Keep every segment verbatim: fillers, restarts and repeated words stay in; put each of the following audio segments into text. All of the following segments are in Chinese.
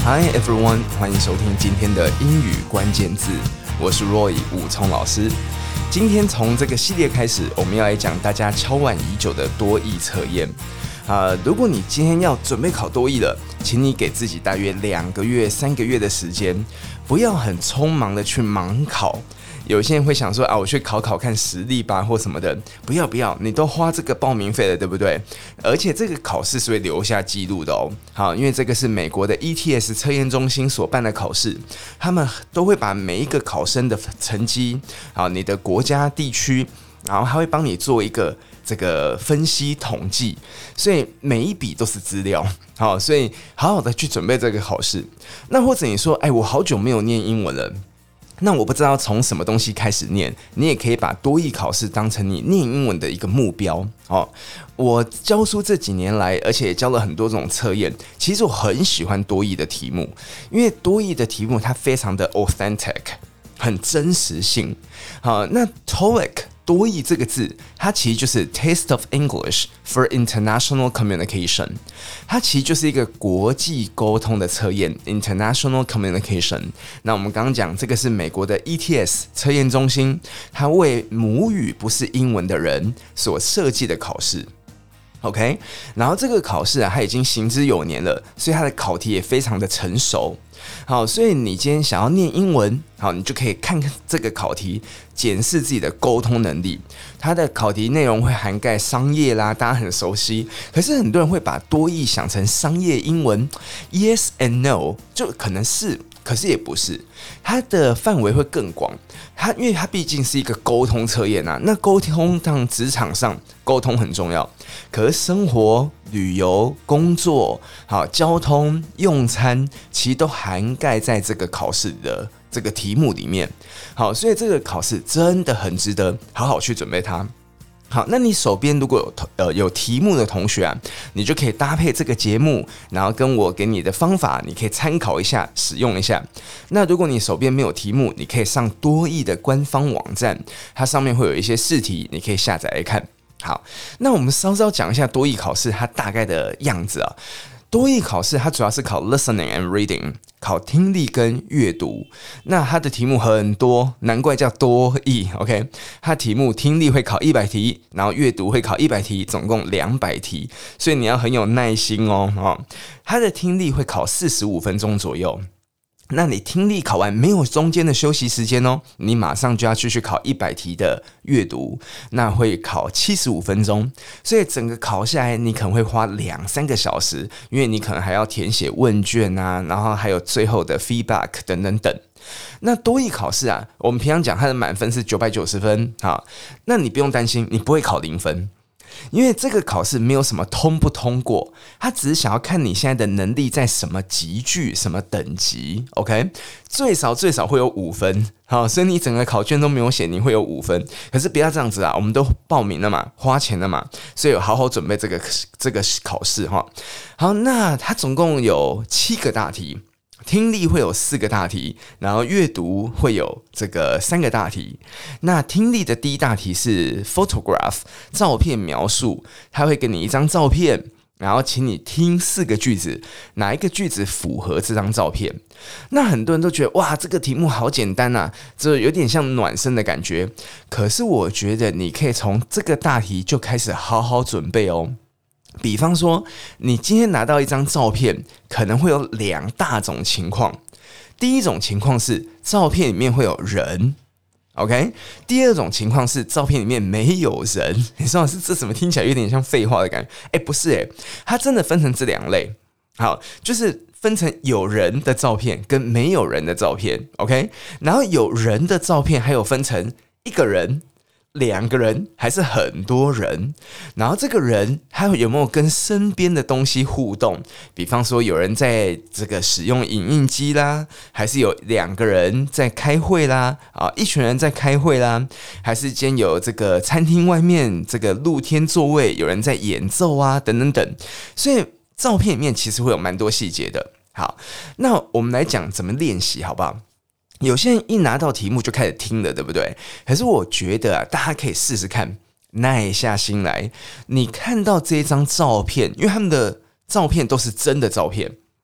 Hi everyone， 歡迎收聽今天的英語關鍵字，我是 Roy 武聰老師。今天從這個系列開始，我們要來講大家敲碗已久的多益測驗。啊，如果你今天要準備考多益了，請你給自己大約兩個月、三個月的時間，不要很匆忙的去盲考。有些人會想說啊，我去考考看實力吧，或什麼的。不要不要，你都花這個報名費了，對不對？而且這個考試是會留下記錄的哦。好，因為這個是美國的 E T S 測驗中心所辦的考試，他們都會把每一個考生的成績，好，你的國家地區，然後他會幫你做一個這個分析統計，所以每一筆都是資料。好，所以好好的去準備這個考試。那或者你說，哎，我好久沒有念英文了。那我不知道從什麼東西開始念，你也可以把多益考試當成你念英文的一個目標哦。我教書這幾年來，而且也教了很多種測驗，其實我很喜歡多益的題目，因為多益的題目它非常的 authentic， 很真實性。好，那 T O E I C 多益這個字，它其實就是 Taste of English for International Communication， 它其實就是一個國際溝通的測驗 International Communication。那我們剛剛講這個是美國的 E T S 測驗中心，它為母語不是英文的人所設計的考試。OK， 然後這個考試啊，它已經行之有年了，所以它的考題也非常的成熟。好，所以你今天想要念英文，好，你就可以看看這個考題，檢視自己的溝通能力。它的考題內容會涵蓋商業啦，大家很熟悉。可是很多人會把多益想成商業英文 ，Yes and No， 就可能是，可是也不是。它的範圍會更廣。它因為它畢竟是一個溝通測驗啊，那溝通當職場上溝通很重要，可是生活、旅遊、工作、好交通、用餐，其實都涵蓋在這個考試的這個題目裡面。好，所以這個考試真的很值得好好去準備它。好，那你手邊如果有呃有題目的同學啊，你就可以搭配這個節目，然後跟我給你的方法，你可以參考一下，使用一下。那如果你手邊沒有題目，你可以上多益的官方網站，它上面會有一些試題，你可以下載來看。好，那我們稍稍講一下多益考試它大概的樣子啊。多益考試它主要是考 listening and reading， 考聽力跟閱讀。那它的題目很多，難怪叫多益。OK， 它題目聽力會考一百題，然後閱讀會考一百題，總共兩百題，所以你要很有耐心哦。哦，它的聽力會考四十五分鐘左右。那你聽力考完沒有中間的休息時間哦，你馬上就要繼續考一百題的閱讀，那會考七十五分鐘，所以整個考下來你可能會花兩三個小時，因為你可能還要填寫問卷啊，然後還有最後的 feedback 等等等。那多益考試啊，我們平常講它的滿分是九百九十分，好，那你不用擔心，你不會考零分。因為這個考試沒有什麼通不通過，他只是想要看你現在的能力在什麼級距、什麼等級 ，OK？ 最少最少會有五分，好，所以你整個考卷都沒有寫，你會有五分。可是不要這樣子啊，我們都報名了嘛，花錢了嘛，所以有好好準備這個這個考試哈。好，那它總共有七個大題。聽力會有四個大題，然後閱讀會有這個三個大題。那聽力的第一大題是 photograph 照片描述，他會給你一張照片，然後請你聽四個句子，哪一個句子符合這張照片？那很多人都覺得哇，這個題目好簡單啊，這有點像暖身的感覺。可是我覺得你可以從這個大題就開始好好準備哦。比方說，你今天拿到一張照片，可能會有兩大種情況。第一種情況是照片裡面會有人 ，OK？ 第二種情況是照片裡面沒有人。你說是這怎麼聽起來有點像廢話的感覺？哎，不是哎，它真的分成這兩類。好，就是分成有人的照片跟沒有人的照片 ，OK？ 然後有人的照片還有分成一個人、兩個人還是很多人，然後這個人他有沒有跟身邊的東西互動？比方說有人在這個使用影印機啦，還是有兩個人在開會啦，啊，一群人在開會啦，還是今天有這個餐廳外面這個露天座位有人在演奏啊，等等等。所以照片裡面其實會有蠻多細節的。好，那我們來講怎麼練習，好不好？有些人一拿到題目就開始聽了，對不對？可是我覺得啊，大家可以試試看，耐下心來。你看到這張照片，因為他們的照片都是真的照片，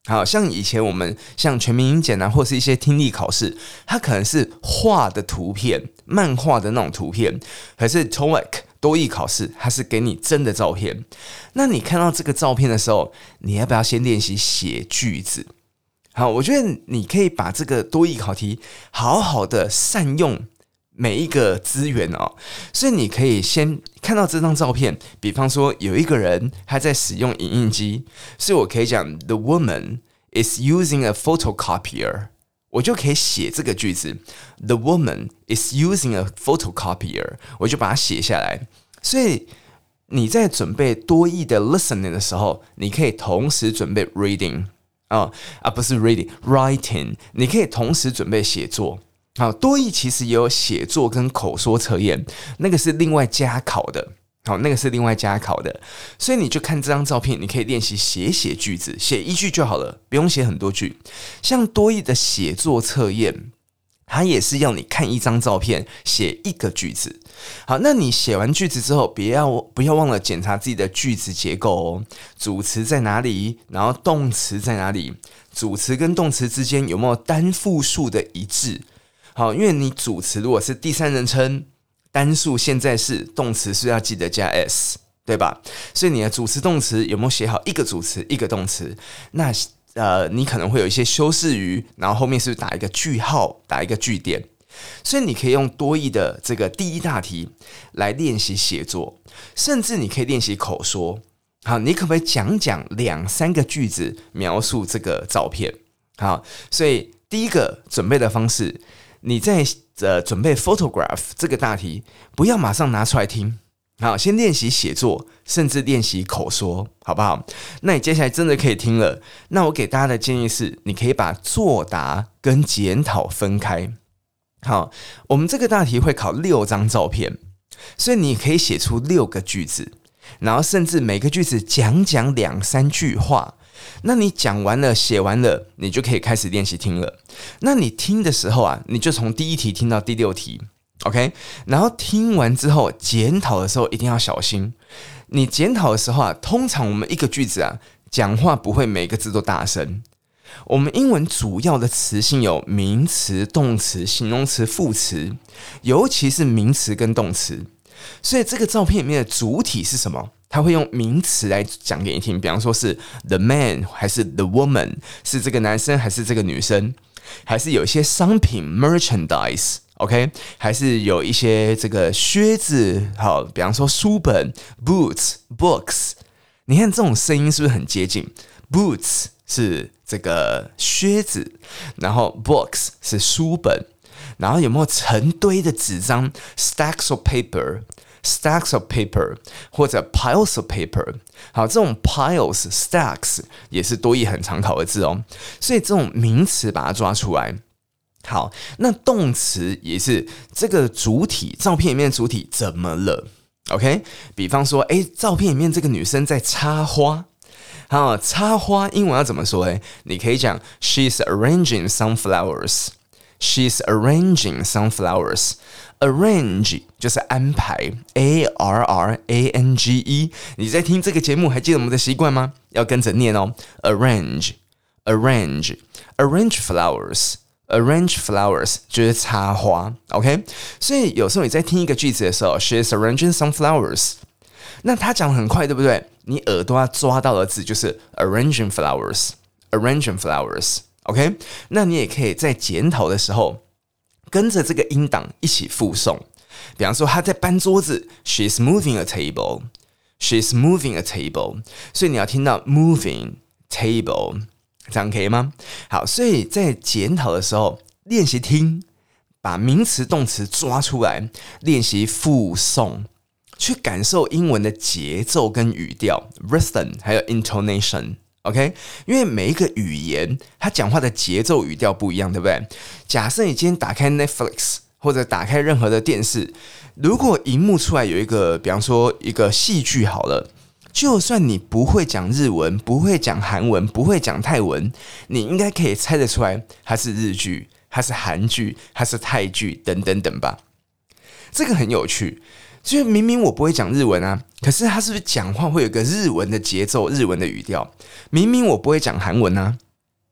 好像以前我們像全民英檢啊，或是一些聽力考試，它可能是畫的圖片、漫畫的那種圖片，可是 T O E I C 多益考試，它是給你真的照片。那你看到這個照片的時候，你要不要先練習寫句子？好，我覺得你可以把這個多益考題好好的善用每一個資源哦。所以你可以先看到這張照片，比方說有一個人他在使用影印機，所以我可以講 The woman is using a photocopier， 我就可以寫這個句子 The woman is using a photocopier， 我就把它寫下來。所以你在準備多益的 listening 的時候，你可以同時準備 reading 啊啊不是 reading writing， 你可以同時準備寫作。好，多益其實也有寫作跟口說測驗，那個是另外加考的。好，那個是另外加考的，所以你就看這張照片，你可以練習寫寫句子，寫一句就好了，不用寫很多句。像多益的寫作測驗，它也是要你看一張照片，寫一個句子。好，那你寫完句子之後，別要不要忘了檢查自己的句子結構哦，主詞在哪裡，然後動詞在哪裡，主詞跟動詞之間有沒有單複數的一致。好，因為你主詞如果是第三人稱單數現在式，動詞是要記得加 s， 對吧？所以你的主詞動詞有沒有寫好一個主詞一個動詞？那呃，你可能會有一些修飾語，然後後面是不是打一個句號，打一個句點？所以你可以用多益的這個第一大題來練習寫作，甚至你可以練習口說。好，你可不可以講講兩三個句子描述這個照片？好，所以第一個準備的方式。你在呃準備 photograph 這個大題，不要馬上拿出來聽，好，先練習寫作，甚至練習口說，好不好？那你接下來真的可以聽了。那我給大家的建議是，你可以把作答跟檢討分開。好，我們這個大題會考六張照片，所以你可以寫出六個句子，然後甚至每個句子講講兩三句話。那你講完了寫完了，你就可以開始練習聽了。那你聽的時候啊，你就從第一題聽到第六題 OK， 然後聽完之後檢討的時候一定要小心。你檢討的時候啊，通常我們一個句子啊，講話不會每個字都大聲。我們英文主要的詞性有名詞、動詞、形容詞、副詞，尤其是名詞跟動詞。所以這個照片裡面的主體是什麼？他會用名詞來講給你聽，比方說是 the man 還是 the woman， 是這個男生還是這個女生，還是有一些商品 merchandise OK， 還是有一些這個靴子，好，比方說書本 boots books， 你看這種聲音是不是很接近？ boots 是這個靴子，然後 books 是書本，然後有沒有成堆的紙張 stacks of paper stacks of paper 或者 piles of paper， 好，這種 piles stacks 也是多益很常考的字哦，所以這種名詞把它抓出來。好，那動詞也是這個主體，照片裡面的主體怎麼了 ？OK， 比方說，哎，照片裡面這個女生在插花，好，插花英文要怎麼說？哎，你可以講 She's arranging some flowers。She's arranging some flowers。Arrange 就是安排 ，A R R A N G E。你在聽這個節目，還記得我們的習慣嗎？要跟着念哦。Arrange, arrange, arrange flowers。Arrange flowers 就是插花 ，OK？ 所以有時候你在聽一個句子的時候 ，She is arranging some flowers。那他講得很快，對不對？你耳朵要抓到的字就是 arranging flowers，arranging flowers，OK？ 那你也可以在檢討的時候跟着這個音檔一起複誦。比方說他在搬桌子 ，She is moving a table，She is moving a table。所以你要聽到 moving table。這樣可以嗎？好，所以在檢討的時候練習聽，把名詞動詞抓出來，練習複誦，去感受英文的節奏跟語調 rhythm 還有 intonation OK， 因為每一個語言它講話的節奏語調不一樣，對不對？假設你今天打開 Netflix 或者打開任何的電視，如果熒幕出來有一個比方說一個戲劇好了，就算你不會講日文，不會講韓文，不會講泰文，你應該可以猜得出來它是日劇，它是韓劇，它是泰劇等等等吧。這個很有趣，就是明明我不會講日文啊，可是他是不是講話會有個日文的節奏，日文的語調？明明我不會講韓文啊，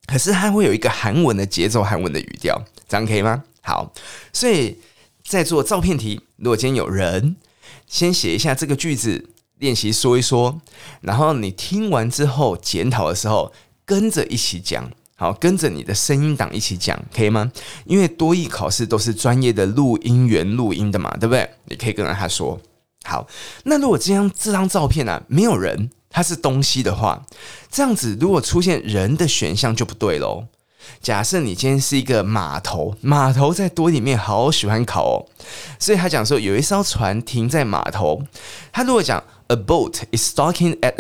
可是它會有一個韓文的節奏、韓文的語調，這樣可以嗎？好，所以在做照片題，如果今天有人先寫一下這個句子，練習說一說，然後你聽完之後檢討的時候，跟着一起講，好，跟着你的聲音檔一起講，可以嗎？因為多益考試都是專業的錄音員錄音的嘛，對不對？你可以跟着他說。好，那如果這張這張照片啊，沒有人，它是東西的話，這樣子如果出現人的選項就不對咯。假設你今天是一個碼頭，碼頭在多益裡面好喜歡考哦，所以他講說有一艘船停在碼頭，他如果講 A boat is docking at a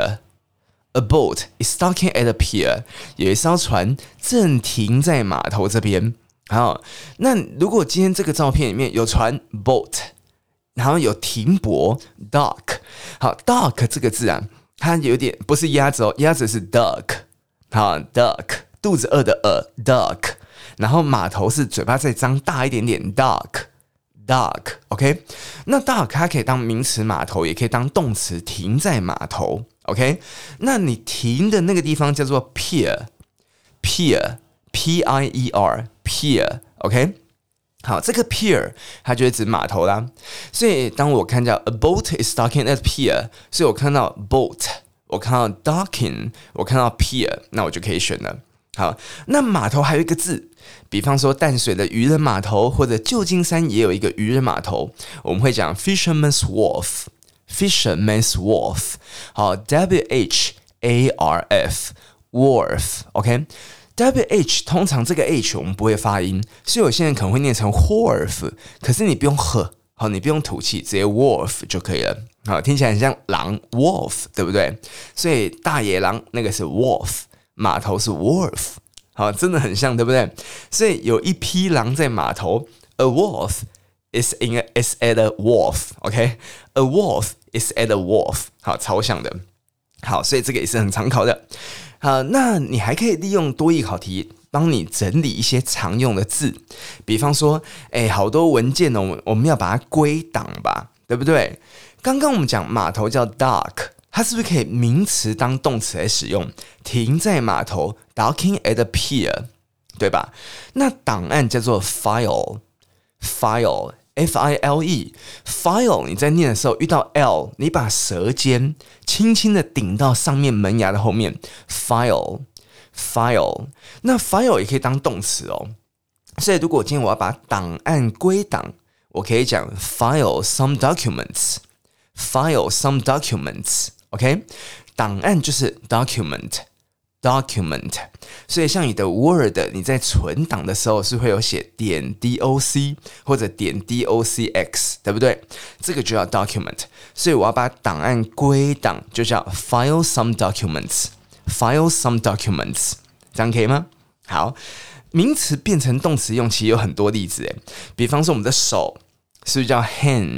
pier，A boat is docking at a pier， 有一艘船正停在碼頭這邊。好，那如果今天這個照片裡面有船 boat， 然後有停泊 dock， 好 dock 這個字啊，它有點不是鴨子哦，鴨子是 duck， 好 duck。肚子餓的餓 duck， 然後碼頭是嘴巴再張大一點點 dock dock OK， 那 dock 它可以當名詞碼頭，也可以當動詞停在碼頭 OK， 那你停的那個地方叫做 pier pier P I E R pier OK， 好，這個 pier 它就會指碼頭啦，所以當我看到 a boat is docking at pier， 所以我看到 boat， 我看到 docking， 我看到 pier， 那我就可以選了。好，那碼頭還有一個字，比方說淡水的漁人碼頭，或者舊金山也有一個漁人碼頭，我們會講 Fisherman's Wharf Fisherman's Wharf 好 W H A R F Wharf OK W H 通常這個 H 我們不會發音，所以有些人可能會念成 Wharf， 可是你不用喝，好，你不用吐氣，直接 Wharf 就可以了。好，聽起來很像狼 Wolf 對不對？所以大野狼那個是 Wolf，碼頭是 wharf， 好，真的很像，對不對？所以有一匹狼在碼頭 ，a wolf is in a, is at a wharf，OK，a、okay? wolf is at a wharf， 好，超像的。好，所以這個也是很常考的。好，那你還可以利用多益考題幫你整理一些常用的字，比方說，哎，好多文件呢，我們要把它歸檔吧，對不對？剛剛我們講碼頭叫 dock。它是不是可以名詞當動詞來使用？停在碼頭 ，docking at a pier， 對吧？那檔案叫做 file，file F I L E，file 你在念的時候遇到 L， 你把舌尖輕輕的頂到上面門牙的後面 ，file，file， 那 file 也可以當動詞哦。所以如果今天我要把檔案歸檔，我可以講 file some documents，file some documents。OK， 檔案就是 document，document， document 所以像你的 Word， 你在存檔的時候是會有寫點 doc 或者點 docx， 對不對？這個就叫 document， 所以我要把檔案歸檔，就叫 file some documents，file some documents， 這樣可以嗎？好，名詞變成動詞用，其實有很多例子誒，比方說我們的手是不是叫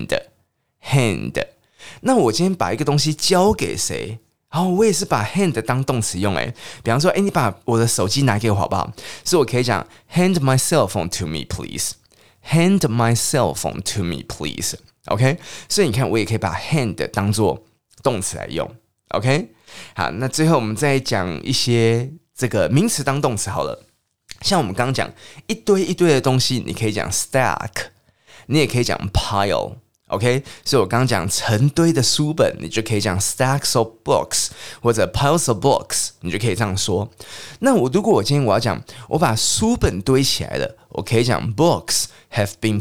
hand，hand？那我今天把一個東西交給誰？好，我也是把 hand 當動詞用誒。比方說，哎，你把我的手機拿給我好不好？所以我可以講 hand my cell phone to me please， hand my cell phone to me please。OK， 所以你看，我也可以把 hand 當做動詞來用。OK， 好，那最後我們再講一些這個名詞當動詞好了。像我們剛剛講一堆一堆的東西，你可以講 stack， 你也可以講 pile。OK， 所以我剛剛講成堆的書本，你就可以講 stacks of books， 或者 piles of books， 你就可以這樣說。那我如果我今天我要講，我把書本堆起來了，我可以講 books have been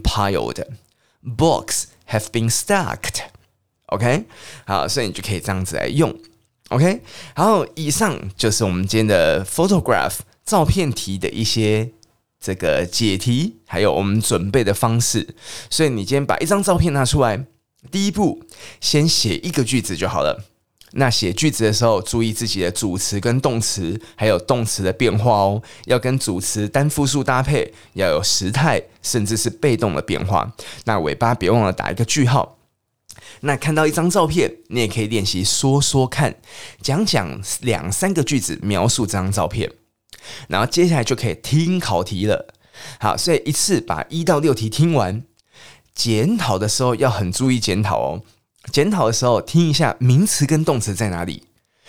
piled，books have been stacked。OK， 好，所以你就可以這樣子來用。OK， 然後以上就是我們今天的 photograph 照片題的一些這個解題，還有我們準備的方式。所以你今天把一張照片拿出來，第一步先寫一個句子就好了。那寫句子的時候，注意自己的主詞跟動詞，還有動詞的變化哦，要跟主詞單複數搭配，要有時態，甚至是被動的變化。那尾巴別忘了打一個句號。那看到一張照片，你也可以練習說說看，講講兩三個句子描述這張照片。然後接下來就可以聽考題了。好，所以一次把一到六題聽完。檢討的時候要很注意檢討哦。檢討的時候聽一下名詞跟動詞在哪裡。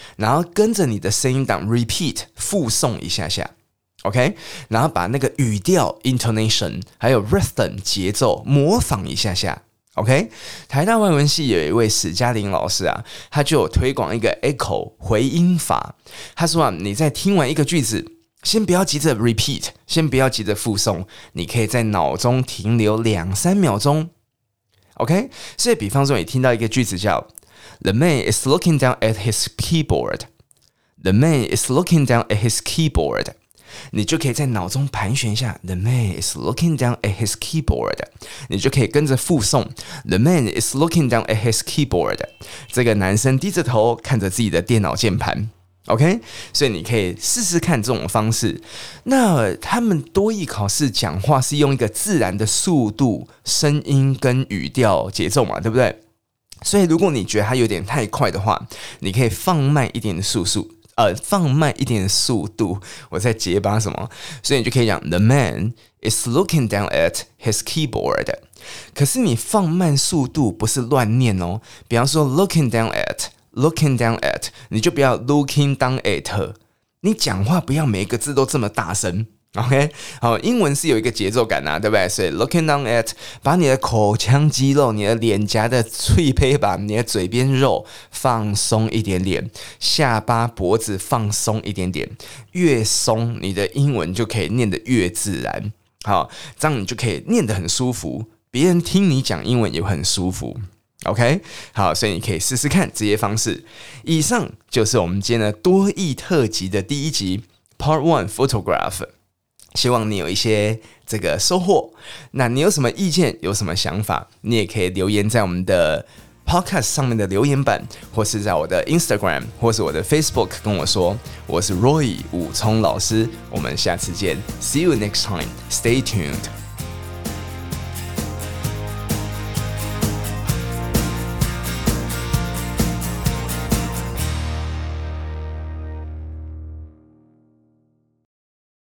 然後跟着你的聲音檔 repeat 複誦一下下 ，OK， 然後把那個語調 intonation 還有 rhythm 節奏模仿一下下。OK， 台大外文系有一位史嘉玲老師啊，他就有推廣一個 echo 回音法。他說啊，你在聽完一個句子，先不要急着 repeat， 先不要急着複誦，你可以在腦中停留兩三秒鐘。OK， 所以比方說你聽到一個句子叫 The man is looking down at his keyboard. The man is looking down at his keyboard. 你就可以在腦中盤旋一下 The man is looking down at his keyboard. 你就可以跟着複誦 The man is looking down at his keyboard. 這個男生低着頭看着自己的電腦鍵盤。OK， 所以你可以試試看這種方式。那他們多益考試講話是用一個自然的速度、聲音跟語調節奏嘛，對不對？所以如果你覺得它有點太快的話，你可以放慢一點的速速。呃，放慢一點的速度，我在結巴什麼？所以你就可以講 The man is looking down at his keyboard。可是你放慢速度不是亂念哦，比方說 looking down at，looking down at， 你就不要 looking down at。你講話不要每一個字都這麼大聲。OK， 好，英文是有一個節奏感啊，對不對？所以 looking down at， 把你的口腔肌肉、你的臉頰的脆胚把你的嘴邊肉放鬆一點點，下巴、脖子放鬆一點點，越鬆，你的英文就可以念得越自然。好，這樣你就可以念得很舒服，別人聽你講英文也會很舒服。OK， 好，所以你可以試試看這些方式。以上就是我們今天的多益特輯的第一集 Part One Photograph。希望你有一些這個收穫。那你有什麼意見，有什麼想法，你也可以留言在我們的 Podcast 上面的留言板，或是在我的 Instagram 或是我的 Facebook 跟我說。我是 Roy 武聰老師，我們下次見 ，See you next time. Stay tuned.